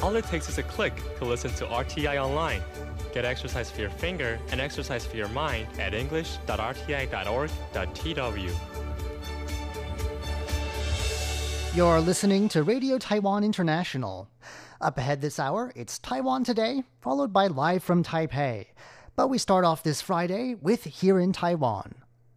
All it takes is a click to listen to RTI online. Get exercise for your finger and exercise for your mind at english.rti.org.tw. You're listening to Radio Taiwan International. Up ahead this hour, it's Taiwan Today, followed by Live from Taipei. But we start off this Friday with Here in Taiwan.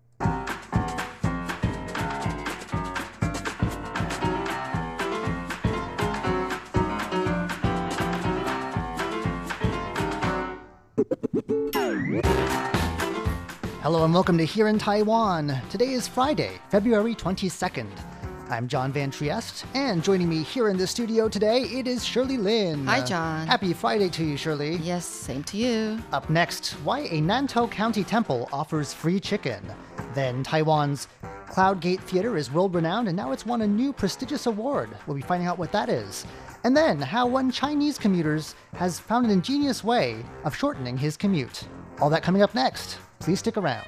Hello and welcome to Here in Taiwan. Today is Friday, February 22nd. I'm John Van Trieste, and joining me here in the studio today, it is Shirley Lin. Hi, John. Happy Friday to you, Shirley. Yes, same to you. Up next, why a Nantou County temple offers free chicken. Then Taiwan's Cloud Gate Theater is world-renowned, and now it's won a new prestigious award. We'll be finding out what that is. And then, how one Chinese commuter has found an ingenious way of shortening his commute. All that coming up next. Please stick around.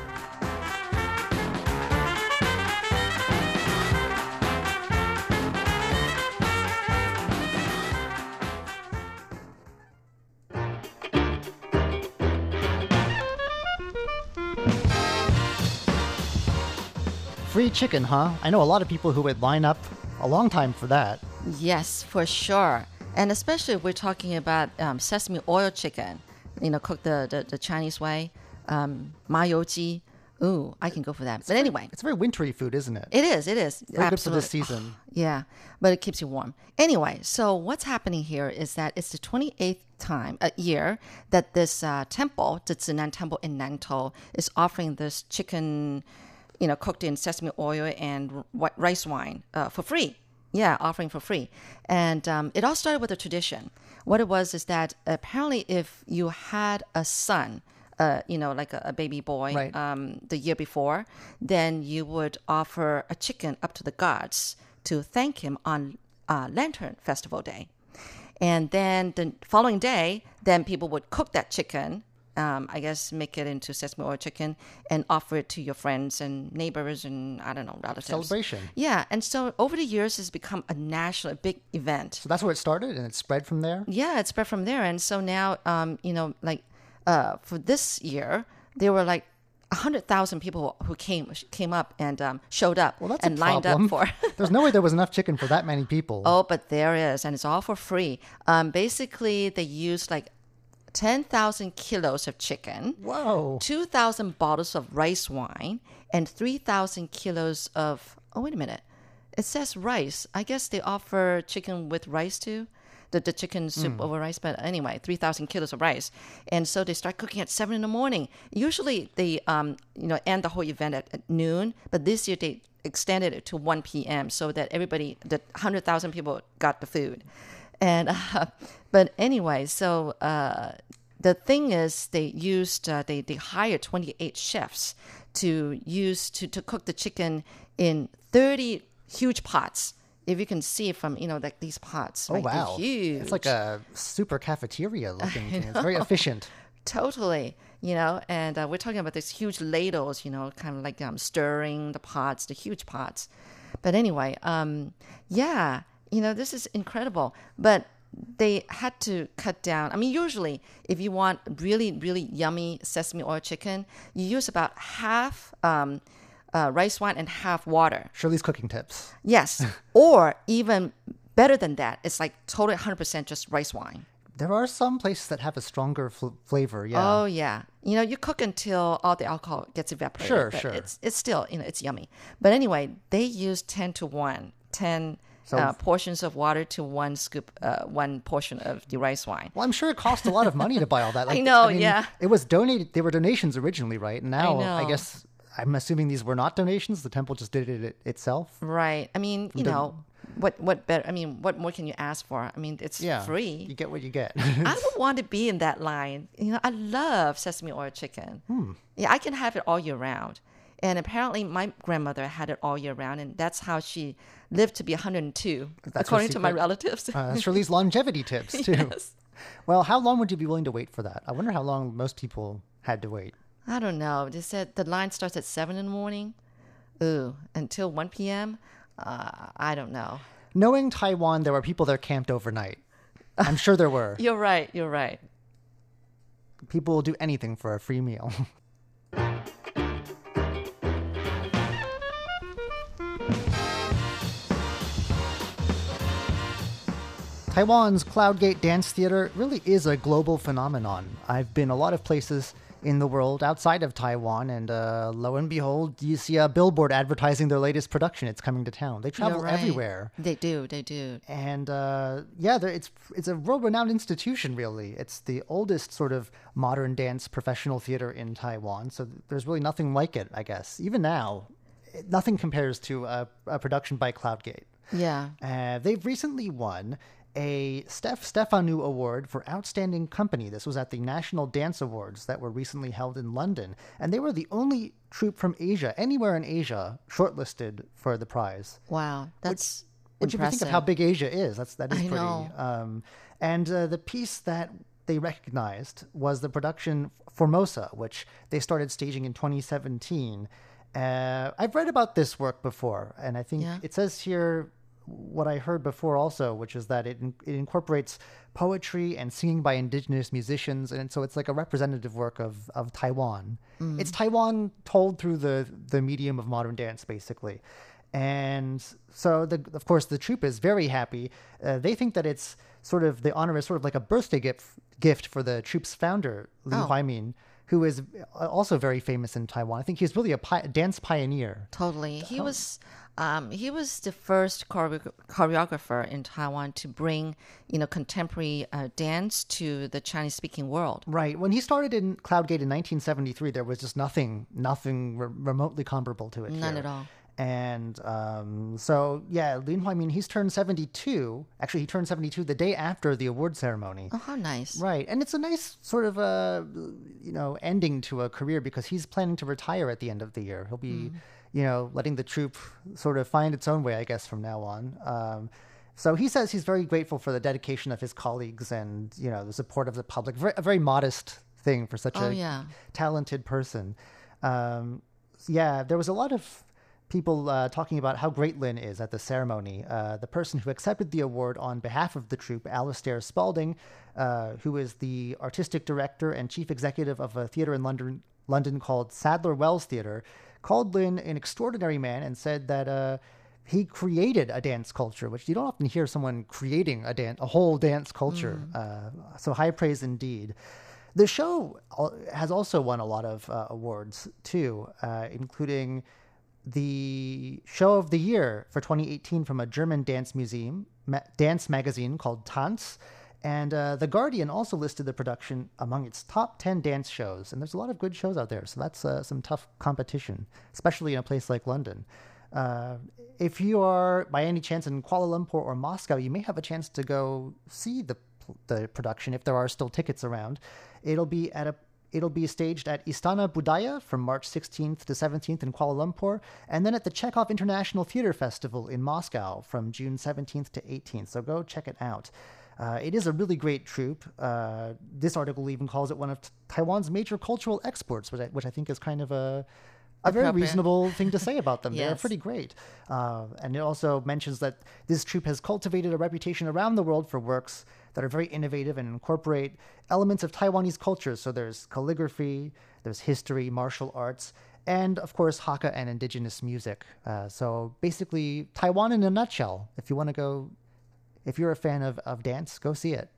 Free chicken, huh? I know a lot of people who would line up a long time for that. Yes, for sure. And especially if we're talking about sesame oil chicken, cooked the Chinese way, ma you ji. Ooh, I can go for that. But anyway. It's a very wintry food, isn't it? It is. Very Absolutely. good for this season. Yeah, but it keeps you warm. Anyway, so what's happening here is that it's the 28th year that this temple, the Zinan Temple in Nantou, is offering this chicken, cooked in sesame oil and rice wine for free. Yeah, offering for free. And it all started with a tradition. What it was is that apparently if you had a son, like a baby boy, right, the year before, then you would offer a chicken up to the gods to thank him on Lantern Festival Day. And then the following day, then people would cook that chicken, I guess make it into sesame oil chicken and offer it to your friends and neighbors and, I don't know, relatives. Celebration. Yeah. And so over the years, it's become a big event. So that's where it started and it spread from there? Yeah, it spread from there. And so now, for this year, there were like 100,000 people who came up and showed up and lined up for. There's no way there was enough chicken for that many people. Oh, but there is, and it's all for free. Basically, they used like 10,000 kilos of chicken. Whoa. 2,000 bottles of rice wine, and 3,000 kilos of. Oh, wait a minute. It says rice. I guess they offer chicken with rice too. The chicken soup over rice, but anyway, 3,000 kilos of rice. And so they start cooking at 7 a.m. Usually they, end the whole event at noon, but this year they extended it to 1 p.m. so that everybody, the 100,000 people got the food. And, but anyway, so the thing is they used, they hired 28 chefs to cook the chicken in 30 huge pots. If you can see from, like these pots. Oh, right? wow. They're huge. It's like a super cafeteria looking thing. It's very efficient. Totally. And we're talking about these huge ladles, kind of like stirring the pots, the huge pots. But anyway, this is incredible. But they had to cut down. I mean, usually if you want really, really yummy sesame oil chicken, you use about half rice wine and half water. Shirley's cooking tips. Yes. Or even better than that, it's like totally 100% just rice wine. There are some places that have a stronger flavor, yeah. Oh, yeah. You cook until all the alcohol gets evaporated. Sure. It's still, it's yummy. But anyway, they use 10 to 1, 10 portions of water to one scoop, one portion of the rice wine. Well, I'm sure it cost a lot of money to buy all that. I know, yeah. It was donated. They were donations originally, right? And now, I know. I guess, I'm assuming these were not donations. The temple just did it itself. Right. I mean, what better? I mean, what more can you ask for? I mean, it's free. You get what you get. I would want to be in that line. I love sesame oil chicken. Yeah, I can have it all year round. And apparently my grandmother had it all year round, and that's how she lived to be 102, according to my relatives. Shirley's longevity tips, too. Yes. Well, how long would you be willing to wait for that? I wonder how long most people had to wait. I don't know. They said the line starts at 7 in the morning. Ooh, until 1 p.m.? I don't know. Knowing Taiwan, there were people there camped overnight. I'm sure there were. You're right. You're right. People will do anything for a free meal. Taiwan's Cloudgate Dance Theater really is a global phenomenon. I've been a lot of places in the world outside of Taiwan, and lo and behold, you see a billboard advertising their latest production. It's coming to town. They travel You're right. everywhere. They do. They do. And it's a world-renowned institution, really. It's the oldest sort of modern dance professional theater in Taiwan, so there's really nothing like it, I guess. Even now, nothing compares to a production by Cloudgate. Yeah. They've recently won a Stefanou Award for Outstanding Company. This was at the National Dance Awards that were recently held in London. And they were the only troupe from Asia, anywhere in Asia, shortlisted for the prize. Wow. That's Which if you think of how big Asia is, that is I pretty. know. And the piece that they recognized was the production Formosa, which they started staging in 2017. I've read about this work before, and I think it says here what I heard before also, which is that it incorporates poetry and singing by indigenous musicians, and so it's like a representative work of Taiwan. It's Taiwan told through the medium of modern dance, basically. And so, of course, the troupe is very happy. They think that it's sort of, the honor is sort of like a birthday gift for the troupe's founder, Lin Huaimin, who is also very famous in Taiwan. I think he's really a dance pioneer. Totally. He was the first choreographer in Taiwan to bring, contemporary dance to the Chinese-speaking world. Right. When he started in Cloudgate in 1973, there was just nothing remotely comparable to it. None here. at all. And so, yeah, Lin Huaimin, he's turned 72. Actually, he turned 72 the day after the award ceremony. Oh, how nice. Right. And it's a nice sort of, ending to a career because he's planning to retire at the end of the year. He'll be, letting the troupe sort of find its own way, I guess, from now on. So he says he's very grateful for the dedication of his colleagues and, the support of the public. A very modest thing for such a talented person. There was a lot of people talking about how great Lin is at the ceremony. The person who accepted the award on behalf of the troupe, Alistair Spalding, who is the artistic director and chief executive of a theater in London called Sadler Wells Theater, called Lin an extraordinary man and said that he created a dance culture, which you don't often hear someone creating a whole dance culture. So high praise indeed. The show has also won a lot of awards too, including the Show of the Year for 2018 from a German dance magazine called Tanz. And The Guardian also listed the production among its top 10 dance shows. And there's a lot of good shows out there, so that's some tough competition, especially in a place like London. If you are, by any chance, in Kuala Lumpur or Moscow, you may have a chance to go see the production if there are still tickets around. It'll be staged at Istana Budaya from March 16th to 17th in Kuala Lumpur, and then at the Chekhov International Theater Festival in Moscow from June 17th to 18th. So go check it out. It is a really great troupe. This article even calls it one of Taiwan's major cultural exports, which I think is kind of a very reasonable thing to say about them. Yes. They're pretty great. And it also mentions that this troupe has cultivated a reputation around the world for works that are very innovative and incorporate elements of Taiwanese culture. So there's calligraphy, there's history, martial arts, and of course Hakka and indigenous music. So basically Taiwan in a nutshell. If you're a fan of dance, go see it.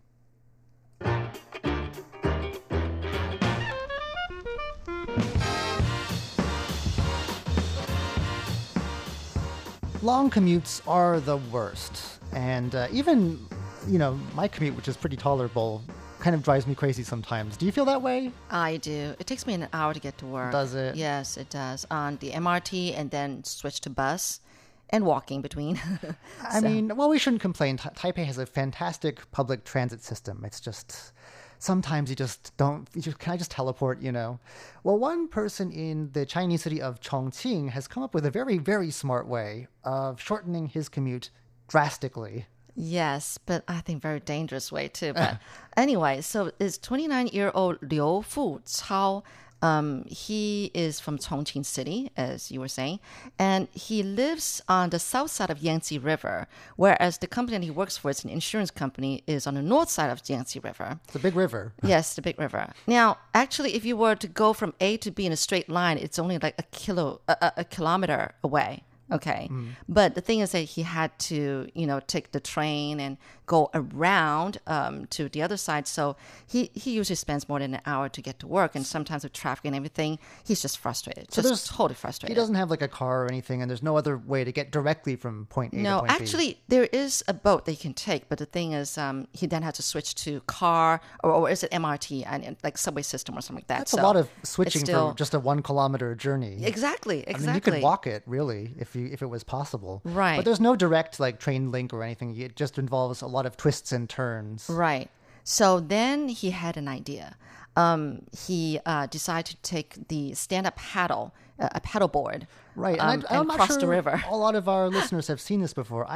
Long commutes are the worst. And even, my commute, which is pretty tolerable, kind of drives me crazy sometimes. Do you feel that way? I do. It takes me an hour to get to work. Does it? Yes, it does. On the MRT and then switch to bus and walking between. I mean, well, we shouldn't complain. Taipei has a fantastic public transit system. It's just... sometimes can I just teleport, Well, one person in the Chinese city of Chongqing has come up with a very, very smart way of shortening his commute drastically. Yes, but I think very dangerous way too. But anyway, so it's 29-year-old Liu Fu Cao He is from Chongqing City, as you were saying, and he lives on the south side of Yangtze River, whereas the company that he works for, it's an insurance company, is on the north side of Yangtze River. It's a big river. Yes, the big river. Now, actually, if you were to go from A to B in a straight line, it's only like a kilometer away. Okay. But the thing is that he had to, take the train and go around to the other side. So he usually spends more than an hour to get to work. And sometimes with traffic and everything, he's just frustrated. So just totally frustrated. He doesn't have like a car or anything, and there's no other way to get directly from point A to No, point B. actually, there is a boat that you can take. But the thing is, he then has to switch to car or is it MRT and like subway system or something like that. That's a lot of switching still, for just a 1 kilometer journey. Exactly. I mean, you could walk it really if it was possible. Right. But there's no direct like train link or anything. It just involves a lot of twists and turns. Right. So then he had an idea. He decided to take the stand-up paddle, a paddle board, Right. and I'm not cross sure the river. a lot of our listeners have seen this before.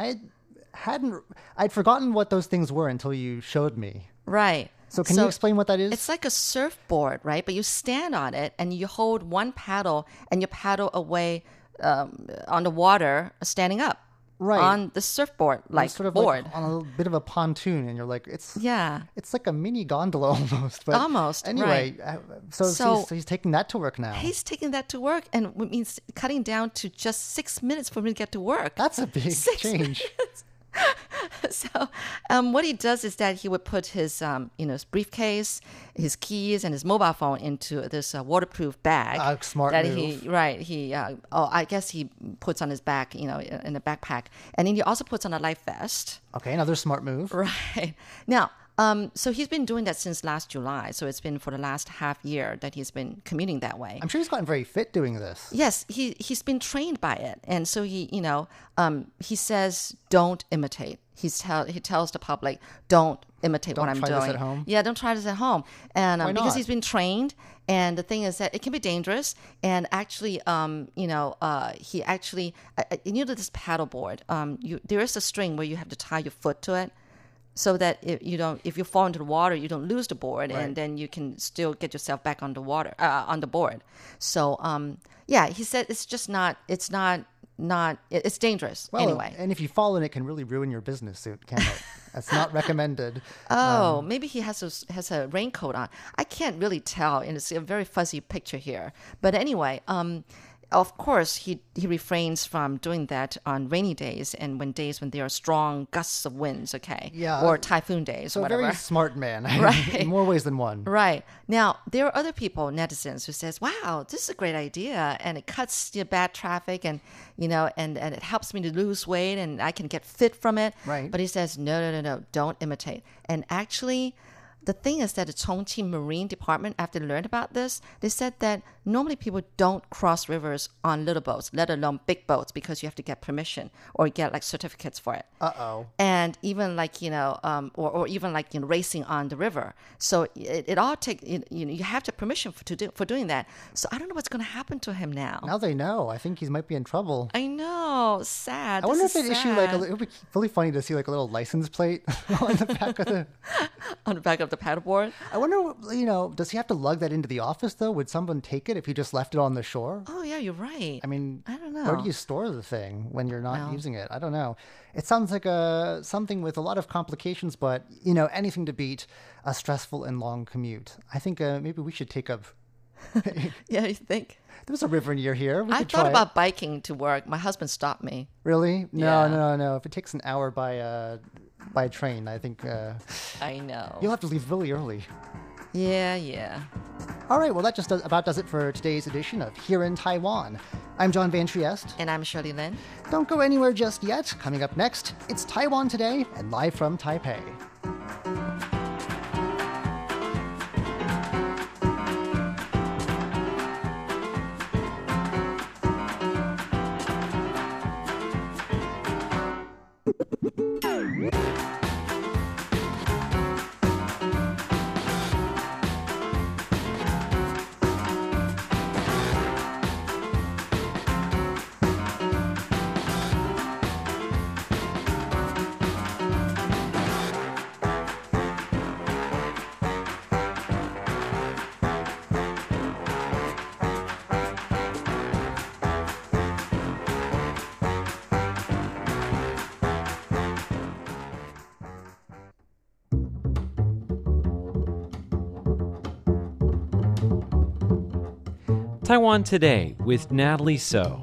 I'd forgotten what those things were until you showed me. Right. So can you explain what that is? It's like a surfboard, right? But you stand on it and you hold one paddle and you paddle away on the water standing up. Right. On the surfboard, like sort of board. like on a bit of a pontoon, and you're like, it's Yeah. it's like a mini gondola almost. But Almost, anyway, so he's taking that to work now. He's taking that to work, and it means cutting down to just 6 minutes for me to get to work. That's a big 6 change. So, what he does is that he would put his, his briefcase, his keys, and his mobile phone into this waterproof bag. Smart that move. I guess he puts on his back, in the backpack, and then he also puts on a life vest. Okay, another smart move. Right now. So he's been doing that since last July. So it's been for the last half year that he's been commuting that way. I'm sure he's gotten very fit doing this. Yes, he's been trained by it, and so he says, "Don't imitate." He tells the public, "Don't imitate what I'm doing." Don't try this at home? Yeah, don't try this at home, and Why because not? he's been trained. And the thing is that it can be dangerous. And actually, he actually, this paddleboard, there is a string where you have to tie your foot to it. So that if you fall into the water, you don't lose the board, Right. and then you can still get yourself back on the water, on the board. So, he said it's just it's dangerous Well, anyway. and if you fall in, it can really ruin your business suit, can't it? That's not recommended. Oh, maybe he has a raincoat on. I can't really tell, and it's a very fuzzy picture here. But anyway, of course, he refrains from doing that on rainy days and when there are strong gusts of winds, okay? Yeah. Or typhoon days So or a whatever. very smart man. Right. In more ways than one. Right. Now, there are other people, netizens, who says, wow, this is a great idea. And it cuts the bad traffic and it helps me to lose weight and I can get fit from it. Right. But he says, no, don't imitate. And actually, the thing is that the Chongqing Marine Department, after they learned about this, they said that normally people don't cross rivers on little boats, let alone big boats, because you have to get permission or get like certificates for it. Uh-oh. And even like, or even like, racing on the river. So it all takes, you have to have permission for doing that. So I don't know what's going to happen to him now. Now they know. I think he might be in trouble. I know. Sad. I wonder if This they is issue sad. it would be really funny to see like a little license plate on the back of the... on the back of the paddleboard. I wonder, does he have to lug that into the office though? Would someone take it if he just left it on the shore? Oh, yeah, you're right. I mean, I don't know. where do you store the thing when you're not Well. using it? I don't know. It sounds like something with a lot of complications, but, anything to beat a stressful and long commute. I think maybe we should take up... Yeah, you think? There's a river near here. We I could thought try about biking to work. My husband stopped me. Really? No, Yeah. no. If it takes an hour by train, I think I know. you'll have to leave really early. Yeah. All right, well, that just about does it for today's edition of Here in Taiwan. I'm John Van Trieste. And I'm Shirley Lin. Don't go anywhere just yet. Coming up next, it's Taiwan Today and live from Taipei. Taiwan Today with Natalie So.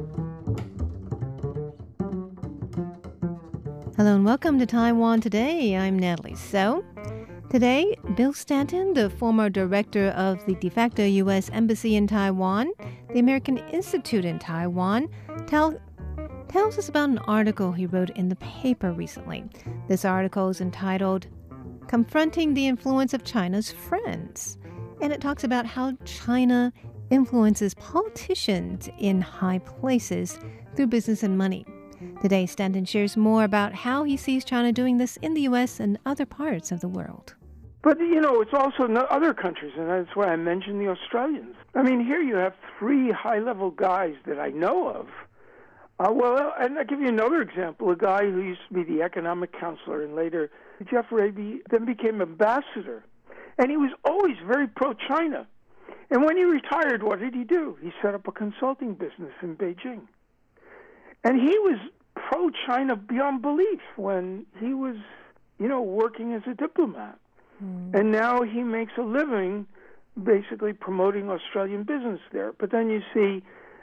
Hello and welcome to Taiwan Today. I'm Natalie So. Today, Bill Stanton, the former director of the de facto U.S. Embassy in Taiwan, the American Institute in Taiwan, tells us about an article he wrote in the paper recently. This article is entitled Confronting the Influence of China's Friends. And it talks about how China influences politicians in high places through business and money. Today, Stanton shares more about how he sees China doing this in the U.S. and other parts of the world. But, it's also other countries, and that's why I mentioned the Australians. I mean, here you have three high-level guys that I know of. And I'll give you another example. A guy who used to be the economic counselor and later Jeff Raby then became ambassador. And he was always very pro-China. And when he retired, what did he do? He set up a consulting business in Beijing. And he was pro-China beyond belief when he was, working as a diplomat. And now he makes a living basically promoting Australian business there. But then you see,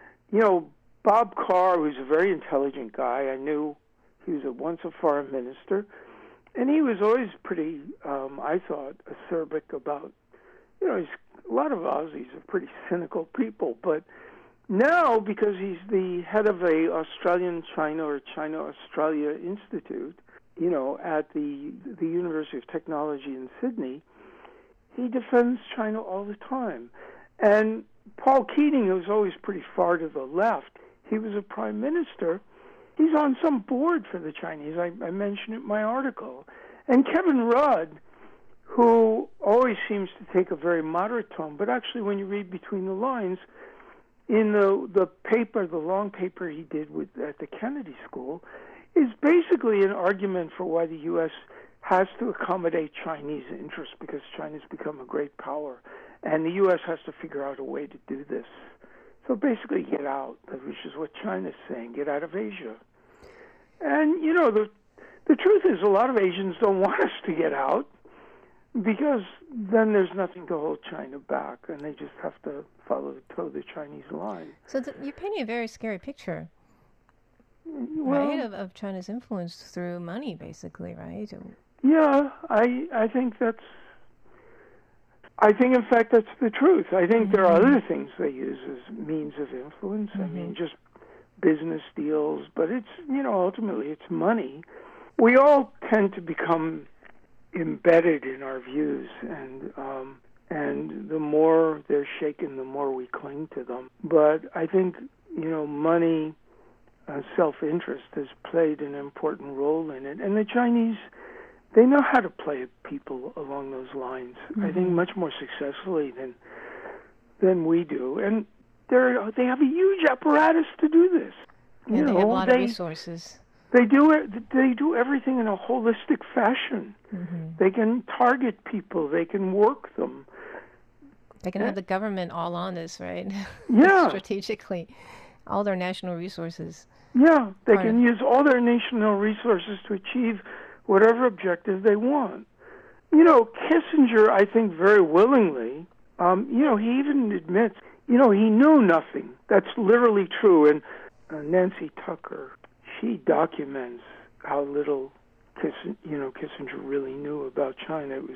Bob Carr, who's a very intelligent guy. I knew he was once a foreign minister. And he was always pretty, I thought, acerbic about, a lot of Aussies are pretty cynical people, but now, because he's the head of a Australian-China or China-Australia Institute, at the University of Technology in Sydney, he defends China all the time. And Paul Keating, who's always pretty far to the left, he was a prime minister. He's on some board for the Chinese. I mentioned it in my article. And Kevin Rudd, who always seems to take a very moderate tone, but actually when you read between the lines, in the paper, the long paper he did at the Kennedy School, is basically an argument for why the U.S. has to accommodate Chinese interests because China's become a great power, and the U.S. has to figure out a way to do this. So basically get out, which is what China's saying, get out of Asia. And, the truth is a lot of Asians don't want us to get out, because then there's nothing to hold China back, and they just have to toe the Chinese line. So you're painting a very scary picture, well, right, of China's influence through money, basically, right? Yeah, I think in fact that's the truth. I think there are other things they use as means of influence. I mean, just business deals, but it's, ultimately it's money. We all tend to become embedded in our views, and the more they're shaken, the more we cling to them. But I think, money, self-interest has played an important role in it. And the Chinese, they know how to play people along those lines, I think much more successfully than we do. And they have a huge apparatus to do this. Yeah, they have a lot of resources. They do everything in a holistic fashion. They can target people. They can work them. They can have the government all on this, right? Yeah. Strategically. All their national resources. Yeah, they can use all their national resources to achieve whatever objective they want. Kissinger, I think very willingly, he even admits, he knew nothing. That's literally true. And Nancy Tucker, she documents how little Kissinger really knew about China. It was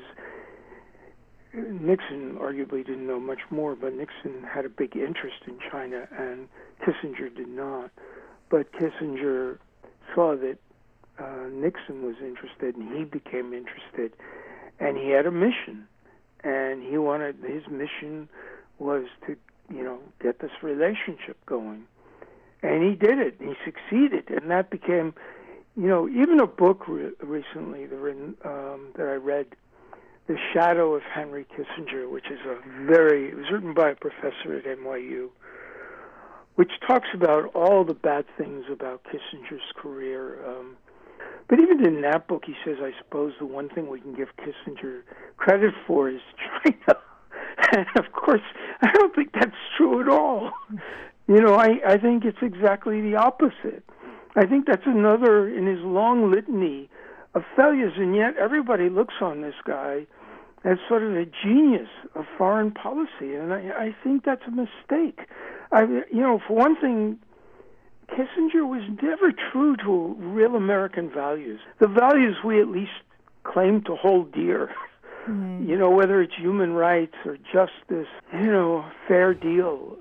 Nixon arguably didn't know much more, but Nixon had a big interest in China, and Kissinger did not. But Kissinger saw that Nixon was interested, and he became interested, and he had a mission, and his mission was to, get this relationship going. And he did it, and he succeeded, and that became, even a book recently that I read, The Shadow of Henry Kissinger, which is it was written by a professor at NYU, which talks about all the bad things about Kissinger's career. But even in that book, he says, I suppose the one thing we can give Kissinger credit for is China. And of course, I don't think that's true at all. I think it's exactly the opposite. I think that's another in his long litany of failures, and yet everybody looks on this guy as sort of a genius of foreign policy, and I think that's a mistake. For one thing, Kissinger was never true to real American values, the values we at least claim to hold dear. Whether it's human rights or justice, fair deal.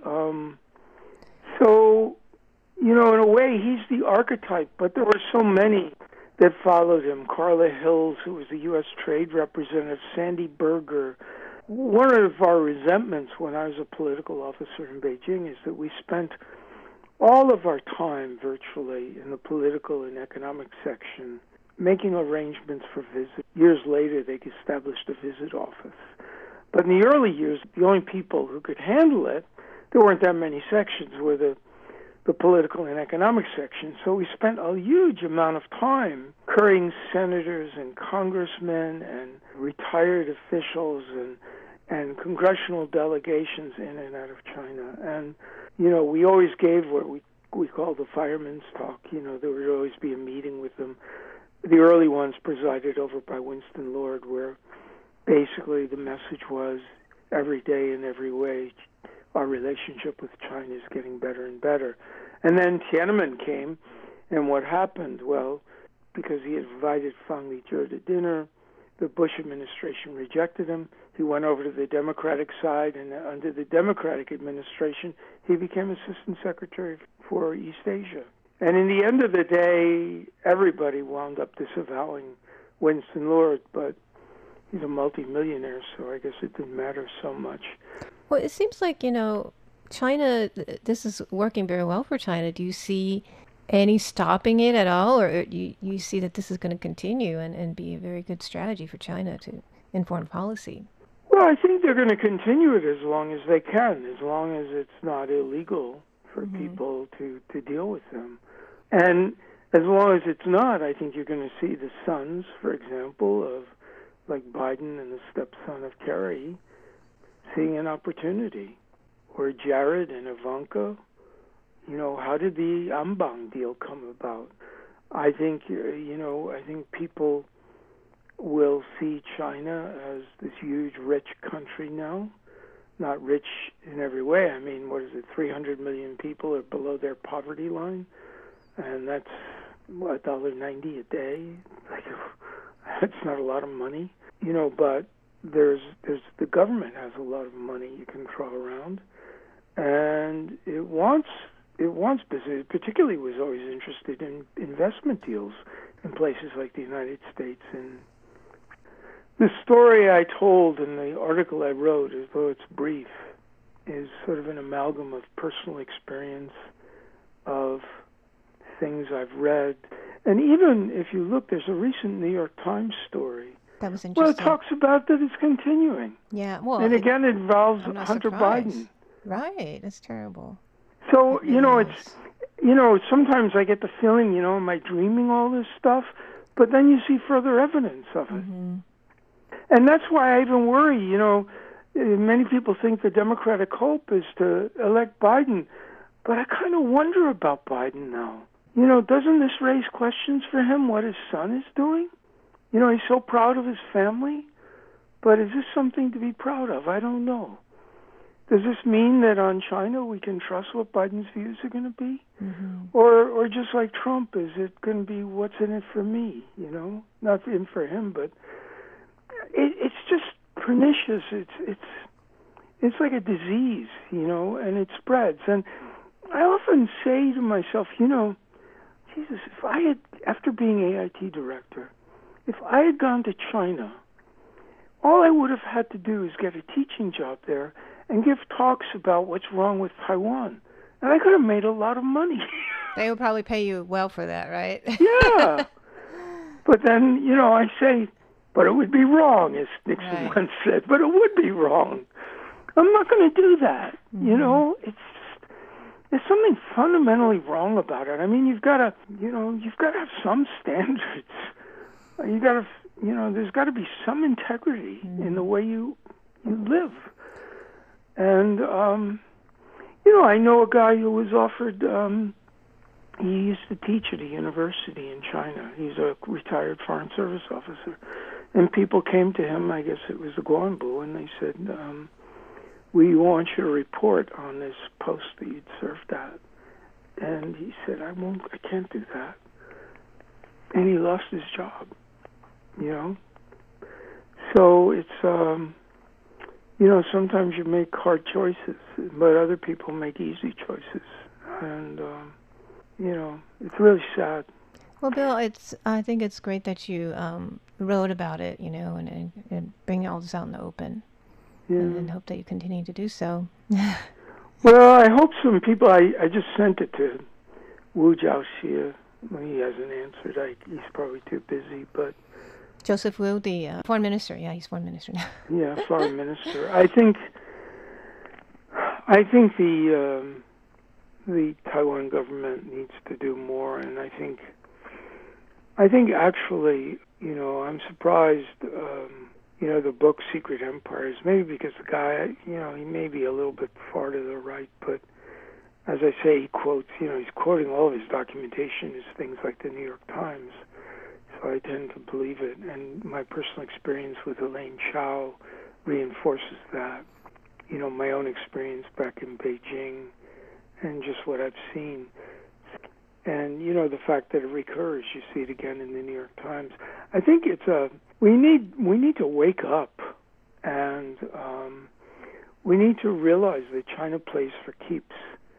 In a way, he's the archetype, but there were so many that followed him. Carla Hills, who was the U.S. Trade Representative, Sandy Berger. One of our resentments when I was a political officer in Beijing is that we spent all of our time virtually in the political and economic section making arrangements for visits. Years later, they established a visit office. But in the early years, the only people who could handle it, there weren't that many sections, were the political and economic section. So we spent a huge amount of time currying senators and congressmen and retired officials and congressional delegations in and out of China. And, we always gave what we call the fireman's talk. There would always be a meeting with them. The early ones presided over by Winston Lord, where basically the message was every day in every way our relationship with China is getting better and better. And then Tiananmen came, and what happened? Well, because he had invited Fang Lizhi to dinner, the Bush administration rejected him. He went over to the Democratic side, and under the Democratic administration, he became Assistant Secretary for East Asia. And in the end of the day, everybody wound up disavowing Winston Lord, but he's a multimillionaire, so I guess it didn't matter so much. Well, it seems like, China, this is working very well for China. Do you see any stopping it at all, or do you see that this is going to continue and be a very good strategy for China in foreign policy? Well, I think they're going to continue it as long as they can, as long as it's not illegal for people to deal with them. And as long as it's not, I think you're going to see the sons, for example, of like Biden and the stepson of Kerry, seeing an opportunity. Or Jared and Ivanka. How did the Ambang deal come about? I think, I think people will see China as this huge, rich country now. Not rich in every way. I mean, 300 million people are below their poverty line. And that's, $1.90 a day. That's not a lot of money. But there's the government has a lot of money you can throw around. And it wants business. It particularly was always interested in investment deals in places like the United States. And the story I told in the article I wrote, although it's brief, is sort of an amalgam of personal experience, of things I've read. And even if you look, there's a recent New York Times story. That was interesting. Well, it talks about that it's continuing. Yeah, well... And again, it involves Hunter Biden. Right, that's terrible. So, sometimes I get the feeling, am I dreaming all this stuff? But then you see further evidence of it. And that's why I even worry, many people think the Democratic hope is to elect Biden. But I kind of wonder about Biden now. Doesn't this raise questions for him, what his son is doing? He's so proud of his family. But is this something to be proud of? I don't know. Does this mean that on China we can trust what Biden's views are going to be? Or just like Trump, is it going to be what's in it for me, Not in for him, but it's just pernicious. It's like a disease, and it spreads. And I often say to myself, Jesus, if I had, after being AIT director, if I had gone to China, all I would have had to do is get a teaching job there and give talks about what's wrong with Taiwan. And I could have made a lot of money. They would probably pay you well for that, right? Yeah. But then, I say, but it would be wrong, as Nixon once said, but it would be wrong. I'm not going to do that. There's something fundamentally wrong about it. I mean, you've got to have some standards. You got to, there's got to be some integrity in the way you live. And, I know a guy who was offered, he used to teach at a university in China. He's a retired Foreign Service officer. And people came to him, I guess it was the Guanbu, and they said, we want you to report on this post that you'd served at. And he said, I can't do that. And he lost his job, you know. So it's, you know, sometimes you make hard choices, but other people make easy choices. And, you know, it's really sad. Well, Bill, I think it's great that you wrote about it, you know, and bring all this out in the open. Yeah. And hope that you continue to do so. Well, I hope some people, I just sent it to Wu Jiaxia. He hasn't answered. He's probably too busy, but... Joseph Wu, the foreign minister. Yeah, he's foreign minister now. Yeah, foreign minister. I think the Taiwan government needs to do more, and I think actually, you know, I'm surprised, you know, the book Secret Empires, maybe because the guy, you know, he may be a little bit far to the right, but as I say, he quotes, you know, he's quoting all of his documentation as things like the New York Times, so I tend to believe it, and my personal experience with Elaine Chao reinforces that, you know, my own experience back in Beijing, and just what I've seen. And, you know, the fact that it recurs, you see it again in the New York Times. I think it's we need to wake up, and we need to realize that China plays for keeps,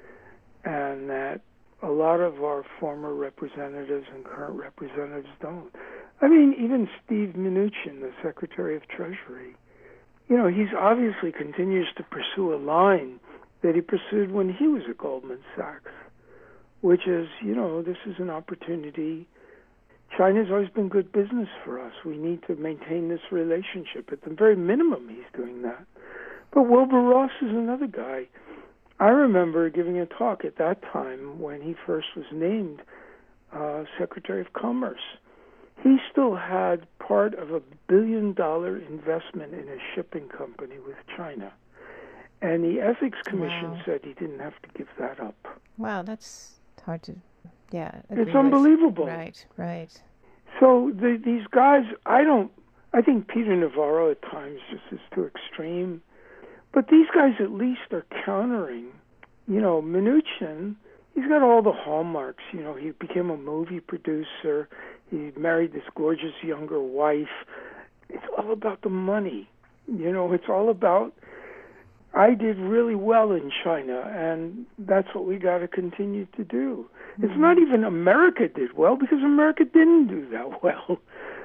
and that a lot of our former representatives and current representatives don't. I mean, even Steve Mnuchin, the Secretary of Treasury, you know, he's obviously continues to pursue a line that he pursued when he was at Goldman Sachs, which is, you know, this is an opportunity. China's always been good business for us. We need to maintain this relationship. At the very minimum, he's doing that. But Wilbur Ross is another guy. I remember giving a talk at that time when he first was named Secretary of Commerce. He still had part of $1 billion investment in a shipping company with China. And the Ethics Commission said he didn't have to give that up. Wow, that's hard to, it's unbelievable. Right. So these guys, I think Peter Navarro at times just is too extreme. But these guys at least are countering. You know, Mnuchin, he's got all the hallmarks. You know, he became a movie producer. He married this gorgeous younger wife. It's all about the money. You know, it's all about, I did really well in China, and that's what we got to continue to do. It's not even America did well, because America didn't do that well.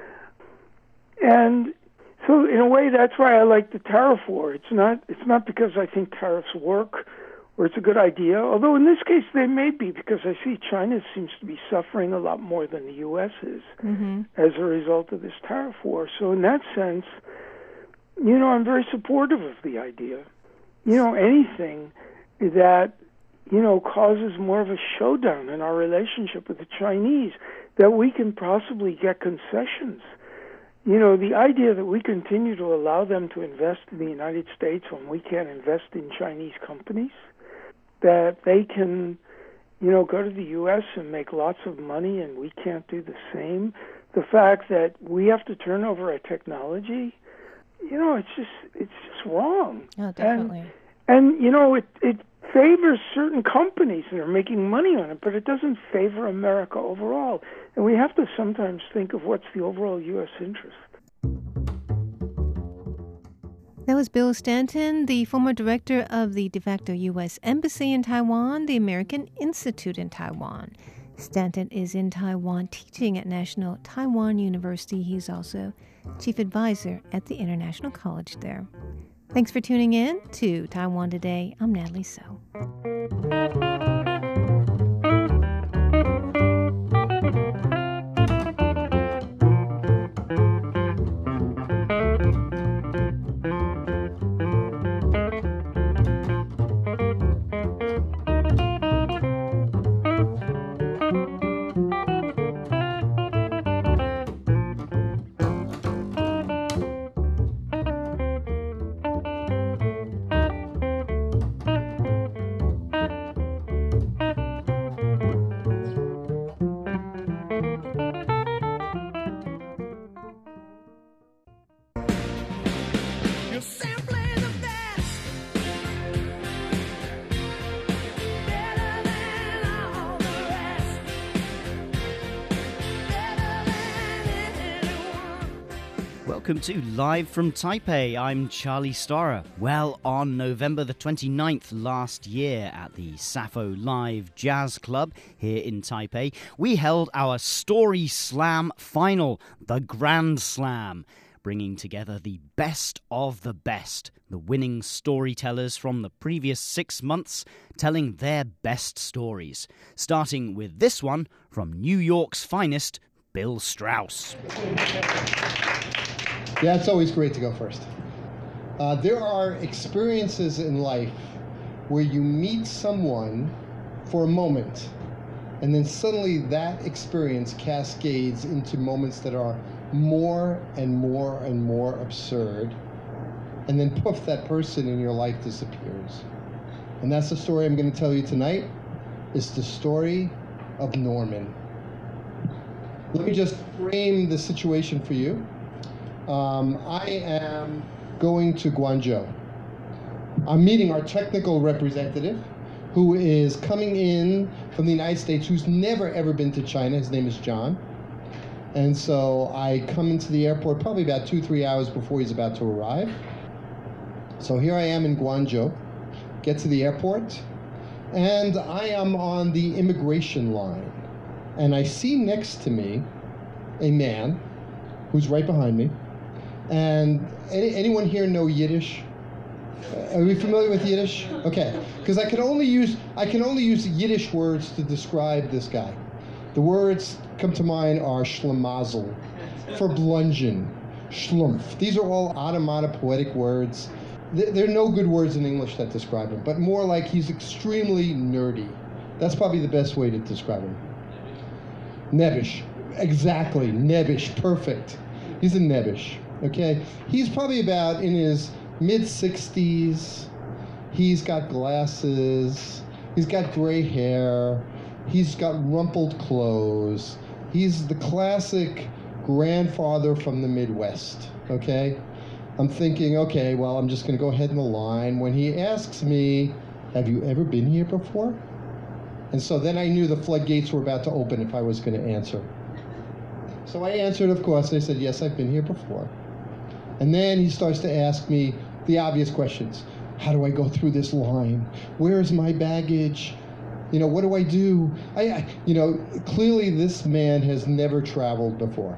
And so in a way, that's why I like the tariff war. It's not because I think tariffs work or it's a good idea, although in this case they may be, because I see China seems to be suffering a lot more than the U.S. is as a result of this tariff war. So in that sense, you know, I'm very supportive of the idea. You know, anything that, you know, causes more of a showdown in our relationship with the Chinese, that we can possibly get concessions. You know, the idea that we continue to allow them to invest in the United States when we can't invest in Chinese companies, that they can, you know, go to the U.S. and make lots of money and we can't do the same, the fact that we have to turn over our technology, you know, it's just wrong. Oh, definitely. And you know, it favors certain companies that are making money on it, but it doesn't favor America overall. And we have to sometimes think of what's the overall U.S. interest. That was Bill Stanton, the former director of the de facto U.S. Embassy in Taiwan, the American Institute in Taiwan. Stanton is in Taiwan teaching at National Taiwan University. He's also chief advisor at the International College there. Thanks for tuning in to Taiwan Today. I'm Natalie So. You're simply the best. Better than all the rest. Better than anyone. Welcome to Live from Taipei. I'm Charlie Storer. Well, on November the 29th last year at the Sappho Live Jazz Club here in Taipei, we held our Story Slam final, the Grand Slam, bringing together the best of the best, the winning storytellers from the previous 6 months, telling their best stories, starting with this one from New York's finest, Bill Strauss. Yeah, it's always great to go first. There are experiences in life where you meet someone for a moment, and then suddenly that experience cascades into moments that are more and more and more absurd, and then poof, that person in your life disappears. And that's the story I'm going to tell you tonight. It's the story of Norman. Let me just frame the situation for you. I am going to Guangzhou. I'm meeting our technical representative, who is coming in from the United States, who's never ever been to China. His name is John. And so I come into the airport probably about 2-3 hours before he's about to arrive. So here I am in Guangzhou, get to the airport, and I am on the immigration line. And I see next to me a man who's right behind me. And anyone here know Yiddish? Are we familiar with Yiddish? Okay, because I can only use Yiddish words to describe this guy. The words come to mind are schlemazel, for bludgeon, schlumpf. These are all onomatopoetic words. There are no good words in English that describe him, but more like he's extremely nerdy. That's probably the best way to describe him. Nebbish, exactly, nebbish, perfect. He's a nebbish. Okay, he's probably about in his mid-60s. He's got glasses. He's got gray hair. He's got rumpled clothes. He's the classic grandfather from the Midwest. Okay, I'm thinking, okay, well, I'm just going to go ahead in the line. When he asks me, "Have you ever been here before?" And so then I knew the floodgates were about to open if I was going to answer. So I answered, of course. I said, "Yes, I've been here before." And then he starts to ask me the obvious questions. How do I go through this line? Where is my baggage? What do I do? Clearly this man has never traveled before.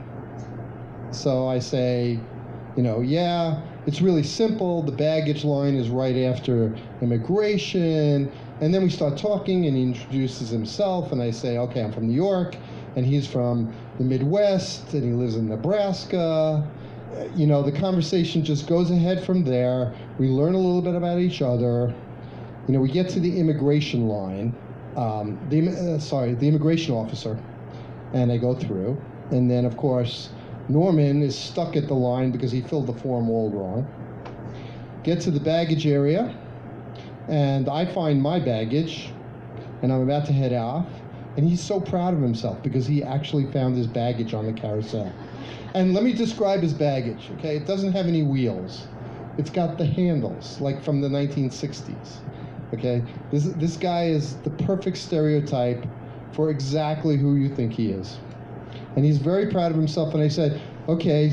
So I say, yeah, it's really simple. The baggage line is right after immigration. And then we start talking, and he introduces himself, and I say, okay, I'm from New York, and he's from the Midwest, and he lives in Nebraska. The conversation just goes ahead from there. We learn a little bit about each other. We get to the immigration line, the immigration officer, and I go through. And then, of course, Norman is stuck at the line because he filled the form all wrong. Get to the baggage area, and I find my baggage, and I'm about to head off. And he's so proud of himself because he actually found his baggage on the carousel. And let me describe his baggage, okay? It doesn't have any wheels. It's got the handles, like from the 1960s, okay? This guy is the perfect stereotype for exactly who you think he is. And he's very proud of himself. And I said, okay,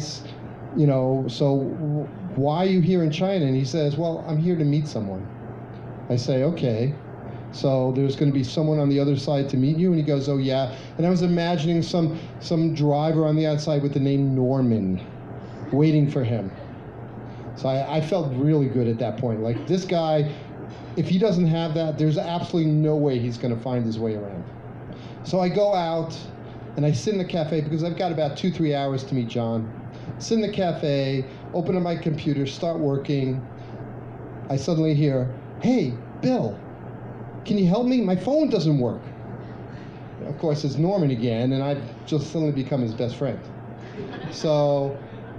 so why are you here in China? And he says, well, I'm here to meet someone. I say, okay. So there's going to be someone on the other side to meet you? And he goes, oh, yeah. And I was imagining some driver on the outside with the name Norman waiting for him. So I felt really good at that point. Like, this guy, if he doesn't have that, there's absolutely no way he's going to find his way around. So I go out, and I sit in the cafe, because I've got about 2-3 hours to meet John. Sit in the cafe, open up my computer, start working. I suddenly hear, hey, Bill, can you help me? My phone doesn't work. Of course, it's Norman again, and I've just suddenly become his best friend. So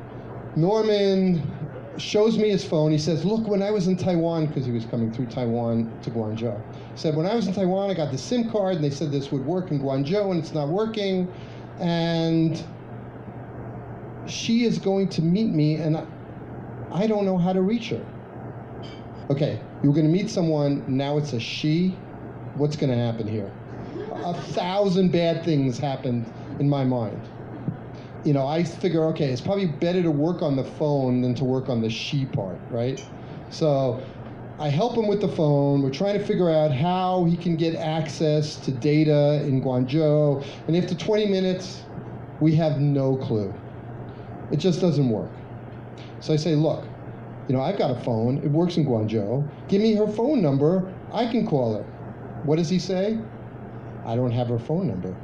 Norman shows me his phone. He says, look, when I was in Taiwan, because he was coming through Taiwan to Guangzhou, he said, when I was in Taiwan, I got the SIM card, and they said this would work in Guangzhou, and it's not working. And she is going to meet me, and I don't know how to reach her. Okay, you're going to meet someone, now it's a she. What's going to happen here? 1,000 bad things happened in my mind. You know, I figure, okay, it's probably better to work on the phone than to work on the she part, right? So I help him with the phone. We're trying to figure out how he can get access to data in Guangzhou. And after 20 minutes, we have no clue. It just doesn't work. So I say, look, you know, I've got a phone. It works in Guangzhou. Give me her phone number. I can call her. What does he say? I don't have her phone number.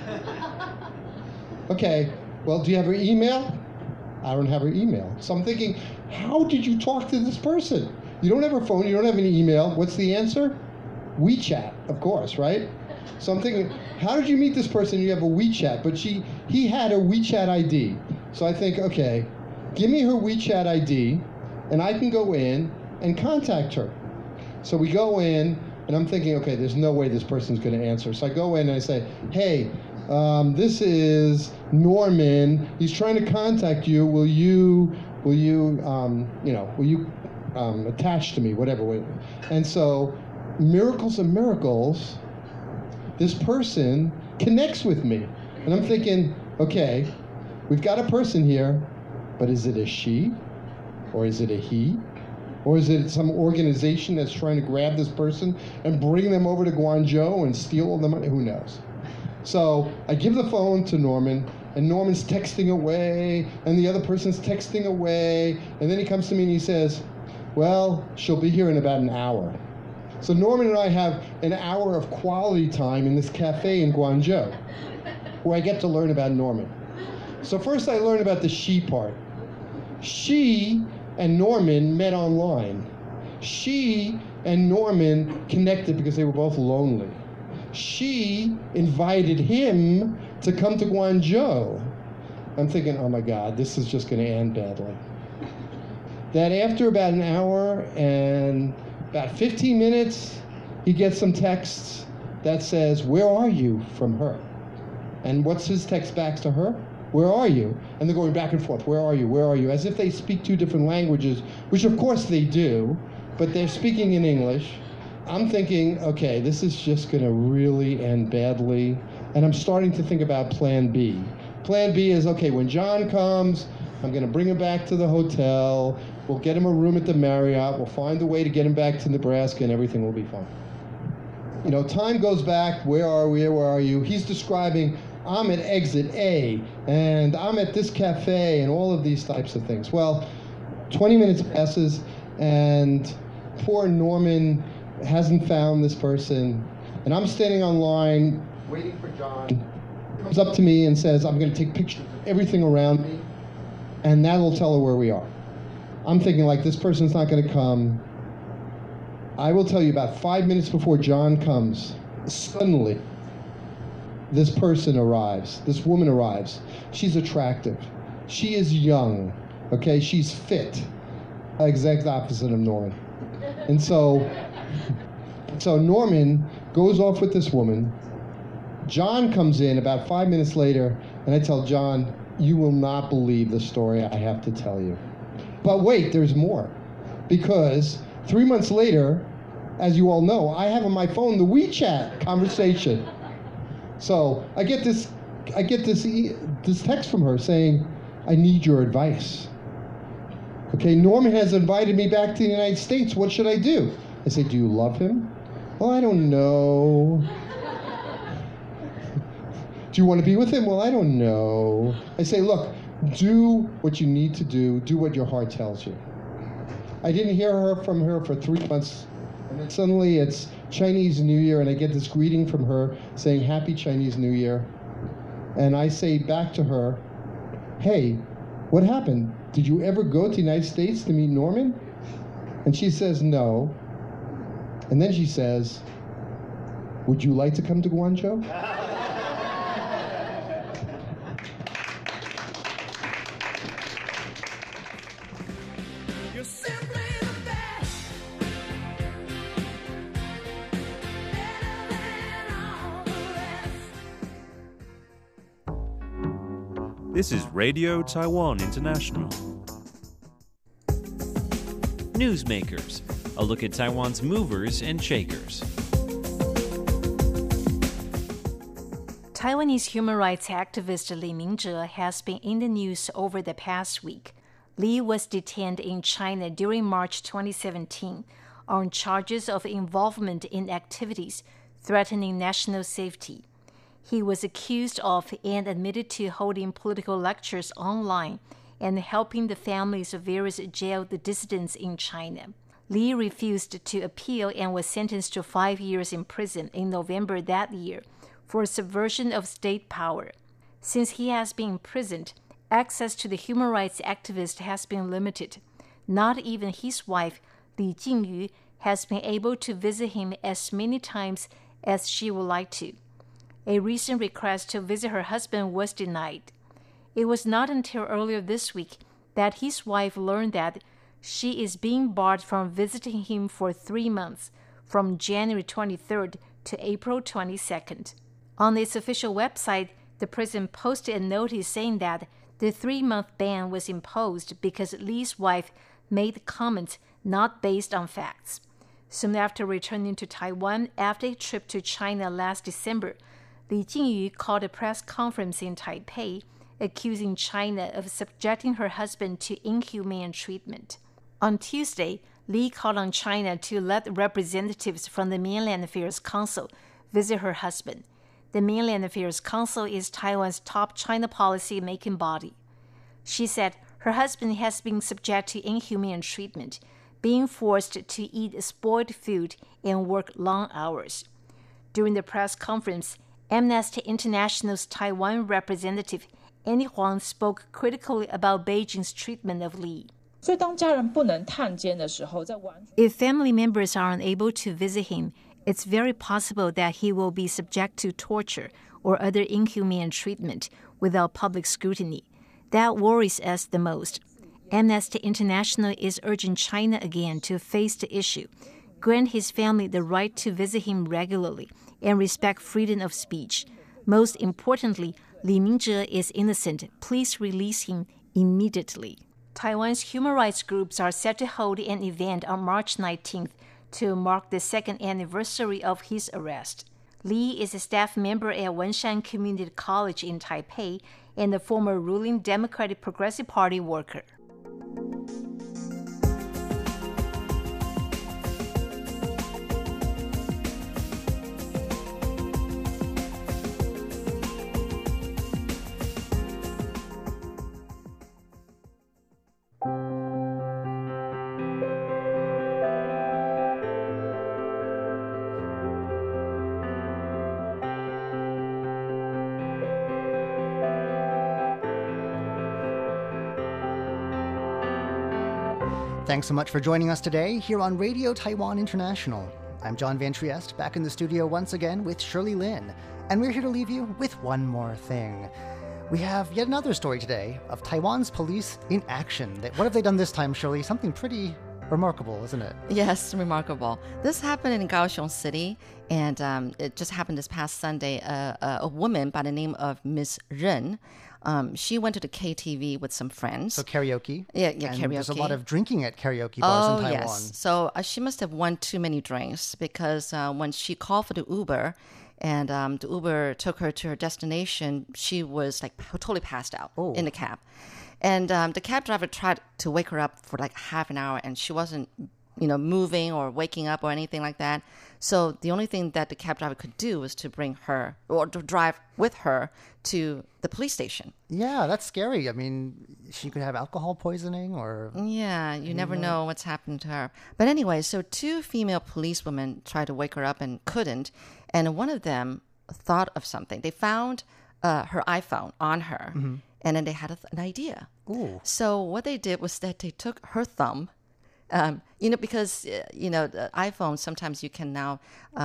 Okay, well, do you have her email? I don't have her email. So I'm thinking, how did you talk to this person? You don't have her phone, you don't have any email. What's the answer? WeChat, of course, right? So I'm thinking, how did you meet this person? You have a WeChat, but he had her WeChat ID. So I think, okay, give me her WeChat ID, and I can go in and contact her. So we go in, and I'm thinking, okay, there's no way this person's going to answer. So I go in and I say, hey, this is Norman. He's trying to contact you. Will you attach to me, whatever. And so, miracles of miracles, this person connects with me. And I'm thinking, okay, we've got a person here, but is it a she? Or is it a he? Or is it some organization that's trying to grab this person and bring them over to Guangzhou and steal all the money? Who knows? So I give the phone to Norman, and Norman's texting away, and the other person's texting away, and then he comes to me and he says, well, she'll be here in about an hour. So Norman and I have an hour of quality time in this cafe in Guangzhou, where I get to learn about Norman. So first I learn about the she part. She and Norman met online. She and Norman connected because they were both lonely. She invited him to come to Guangzhou. I'm thinking, oh my God, this is just going to end badly. That after about an hour and about 15 minutes, he gets some texts that says, where are you, from her? And what's his text back to her? Where are you? And they're going back and forth, where are you, where are you? As if they speak two different languages, which of course they do, but they're speaking in English. I'm thinking, okay, this is just going to really end badly. And I'm starting to think about plan B. Plan B is, okay, when John comes, I'm going to bring him back to the hotel. We'll get him a room at the Marriott. We'll find a way to get him back to Nebraska, and everything will be fine. You know, time goes back. Where are we? Where are you? He's describing, I'm at exit A, and I'm at this cafe, and all of these types of things. Well, 20 minutes passes, and poor Norman hasn't found this person, and I'm standing online waiting for John. He comes up to me and says, I'm going to take pictures of everything around me, and that'll tell her where we are. I'm thinking, like, this person's not going to come. I will tell you, about 5 minutes before John comes, suddenly, this person arrives. This woman arrives. She's attractive. She is young. Okay? She's fit. Exact opposite of Norman. And so Norman goes off with this woman. John comes in about 5 minutes later, and I tell John, you will not believe the story I have to tell you. But wait, there's more. Because 3 months later, as you all know, I have on my phone the WeChat conversation. So I get this text from her saying, I need your advice. Okay, Norman has invited me back to the United States. What should I do? I say, do you love him? Well, I don't know. Do you want to be with him? Well, I don't know. I say, look, do what you need to do. Do what your heart tells you. I didn't hear from her for 3 months. And then suddenly it's Chinese New Year, and I get this greeting from her saying, Happy Chinese New Year. And I say back to her, hey, what happened? Did you ever go to the United States to meet Norman? And she says, no. And then she says, would you like to come to Guangzhou? You're simply the best. Better than all the rest. This is Radio Taiwan International. Newsmakers, a look at Taiwan's movers and shakers. Taiwanese human rights activist Li Mingzhe has been in the news over the past week. Li was detained in China during March 2017 on charges of involvement in activities threatening national safety. He was accused of and admitted to holding political lectures online and helping the families of various jailed dissidents in China. Li refused to appeal and was sentenced to 5 years in prison in November that year for subversion of state power. Since he has been imprisoned, access to the human rights activist has been limited. Not even his wife, Li Jingyu, has been able to visit him as many times as she would like to. A recent request to visit her husband was denied. It was not until earlier this week that his wife learned that she is being barred from visiting him for 3 months, from January 23rd to April 22nd. On its official website, the prison posted a notice saying that the 3-month ban was imposed because Li's wife made comments not based on facts. Soon after returning to Taiwan after a trip to China last December, Li Jingyu called a press conference in Taipei, accusing China of subjecting her husband to inhumane treatment. On Tuesday, Li called on China to let representatives from the Mainland Affairs Council visit her husband. The Mainland Affairs Council is Taiwan's top China policy-making body. She said her husband has been subject to inhumane treatment, being forced to eat spoiled food and work long hours. During the press conference, Amnesty International's Taiwan representative Annie Huang spoke critically about Beijing's treatment of Li. If family members are unable to visit him, it's very possible that he will be subject to torture or other inhumane treatment without public scrutiny. That worries us the most. Amnesty International is urging China again to face the issue, grant his family the right to visit him regularly, and respect freedom of speech. Most importantly, Li Mingzhe is innocent. Please release him immediately. Taiwan's human rights groups are set to hold an event on March 19th to mark the 2nd anniversary of his arrest. Li is a staff member at Wenshan Community College in Taipei and a former ruling Democratic Progressive Party worker. Thanks so much for joining us today here on Radio Taiwan International. I'm John Van Trieste, back in the studio once again with Shirley Lin, and we're here to leave you with one more thing. We have yet another story today of Taiwan's police in action. What have they done this time, Shirley? Something pretty remarkable, isn't it? Yes, remarkable. This happened in Kaohsiung City, and it just happened this past Sunday. A woman by the name of Miss Ren, she went to the KTV with some friends. So karaoke. Yeah, and karaoke. There's a lot of drinking at karaoke bars in Taiwan. Yes. So she must have won too many drinks because when she called for the Uber, and the Uber took her to her destination, she was like totally passed out in the cab. And the cab driver tried to wake her up for like half an hour, and she wasn't, moving or waking up or anything like that. So the only thing that the cab driver could do was to bring her or to drive with her to the police station. Yeah, that's scary. I mean, she could have alcohol poisoning or... Yeah, you never know what's happened to her. But anyway, so 2 female policewomen tried to wake her up and couldn't. And one of them thought of something. They found her iPhone on her, and then they had an idea. Ooh. So what they did was that they took her thumb, because, the iPhone, sometimes you can now,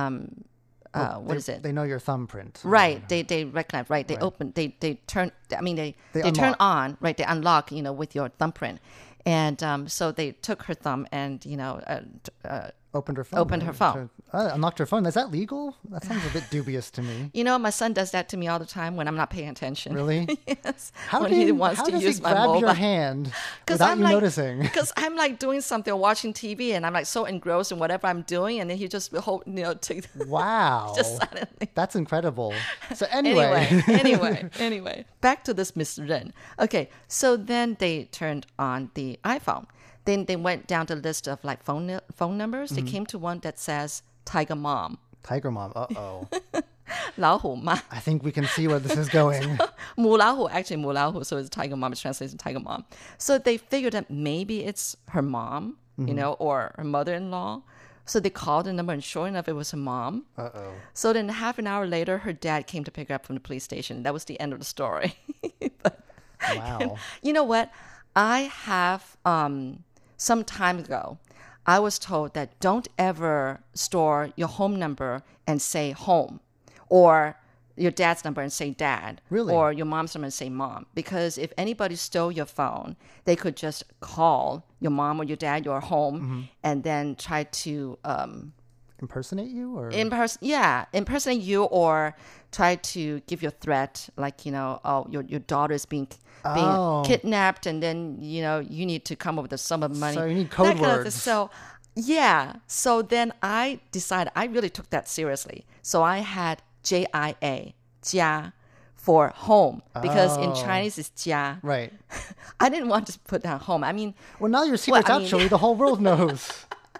what is it? They know your thumbprint. Right. They recognize, right. They open, they turn, they turn on, right. They unlock, with your thumbprint. And so they took her thumb and, Opened her phone. Opened her phone. Unlocked her phone. Is that legal? That sounds a bit dubious to me. You know, my son does that to me all the time when I'm not paying attention. Really? Yes. How when does he wants to he use my grab mobile. your hand without you noticing? Because I'm like doing something or watching TV and I'm like so engrossed in whatever I'm doing, and then he just take Wow. just suddenly. That's incredible. So anyway. Anyway, back to this Miss Ren. Okay, so then they turned on the iPhone. Then they went down the list of like phone numbers. They came to one that says Tiger Mom. Tiger Mom. Uh-oh. 老虎妈. I think we can see where this is going. 母老虎, actually 母老虎, so it's Tiger Mom. It's translated to Tiger Mom. So they figured that maybe it's her mom, you know, or her mother-in-law. So they called the number, and sure enough, it was her mom. Uh-oh. So then half an hour later, her dad came to pick her up from the police station. That was the end of the story. Wow. You know what? I have, some time ago, I was told that don't ever store your home number and say home, or your dad's number and say dad, Really? or your mom's number and say mom. Because if anybody stole your phone, they could just call your mom or your dad, your home, and then try to Impersonate you? Or impersonate you, or try to give you a threat, like, you know, oh, your daughter is being kidnapped, and then, you know, you need to come up with a sum of money. So you need code words. So then I decided, I really took that seriously. So I had JIA, 家, for home, because in Chinese it's 家. Right. I didn't want to put down home. I mean, Well, now your secret's I mean- actually the whole world knows.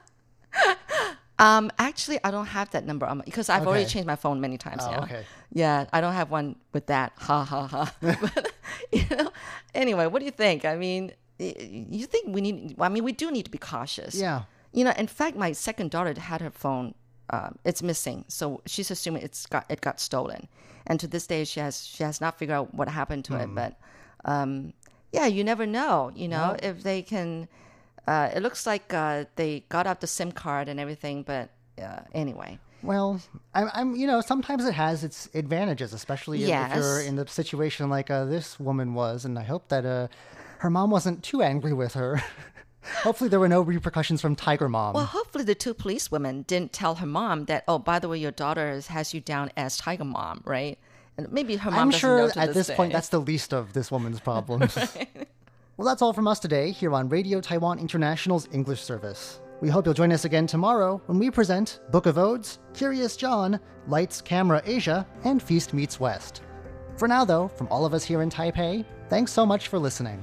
actually, I don't have that number because I've already Okay. changed my phone many times now. Okay. Yeah, I don't have one with that. Ha ha ha. But, you know, anyway, what do you think? I mean, you think we do need to be cautious. Yeah. You know, in fact, my second daughter had her phone. It's missing, so she's assuming it got stolen, and to this day she has not figured out what happened to it. But yeah, you never know. You know, if they can. It looks like they got out the SIM card and everything, but anyway. Well, I'm you know, sometimes it has its advantages, especially if you're Yes. in the situation like this woman was, and I hope that her mom wasn't too angry with her. Hopefully there were no repercussions from Tiger Mom. Well, hopefully the two policewomen didn't tell her mom that, oh, by the way, your daughter has you down as Tiger Mom, right? And maybe her mom I'm doesn't sure know to at this point day. that's the least of this woman's problems. Well, that's all from us today here on Radio Taiwan International's English service. We hope you'll join us again tomorrow when we present Book of Odes, Curious John, Lights, Camera Asia, and Feast Meets West. For now, though, from all of us here in Taipei, thanks so much for listening.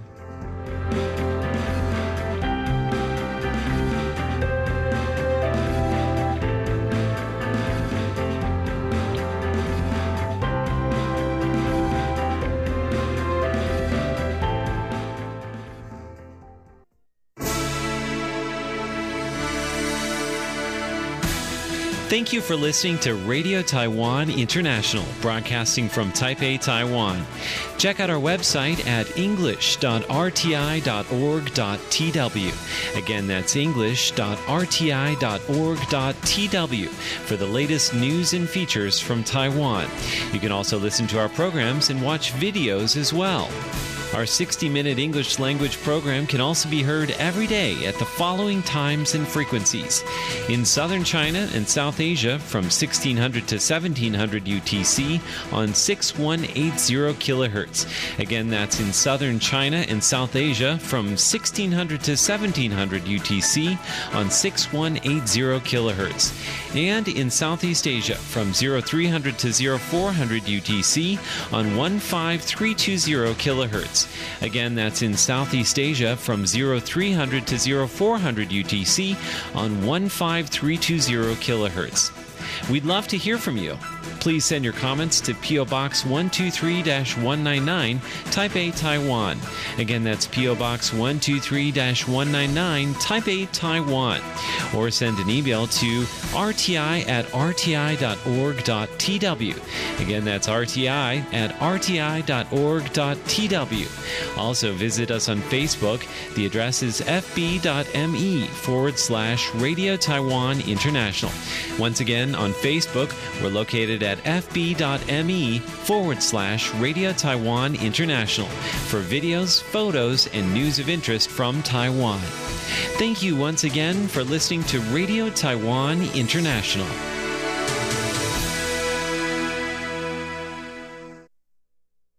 Thank you for listening to Radio Taiwan International, broadcasting from Taipei, Taiwan. Check out our website at english.rti.org.tw. Again, that's english.rti.org.tw for the latest news and features from Taiwan. You can also listen to our programs and watch videos as well. Our 60-minute English language program can also be heard every day at the following times and frequencies. In southern China and South Asia from 1600 to 1700 UTC on 6180 kHz. Again, that's in southern China and South Asia from 1600 to 1700 UTC on 6180 kHz. And in Southeast Asia from 0300 to 0400 UTC on 15320 kHz. Again, that's in Southeast Asia from 0300 to 0400 UTC on 15320 kHz. We'd love to hear from you. Please send your comments to P.O. Box 123-199, Taipei, Taiwan. Again, that's P.O. Box 123-199, Taipei, Taiwan. Or send an email to rti@rti.org.tw. Again, that's rti@rti.org.tw. Also, visit us on Facebook. The address is fb.me/Radio Taiwan International. Once again, on Facebook, we're located it at fb.me/Radio Taiwan International for videos, photos, and news of interest from Taiwan. Thank you once again for listening to Radio Taiwan International.